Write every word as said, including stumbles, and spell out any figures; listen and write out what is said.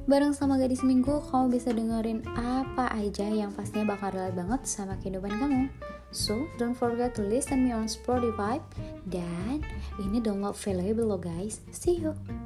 Bareng sama Gadis Minggu, kamu bisa dengerin apa aja yang pastinya bakal relate banget sama kehidupan kamu. So, don't forget to listen me on Spotify. Dan ini download valuable loh guys. See you!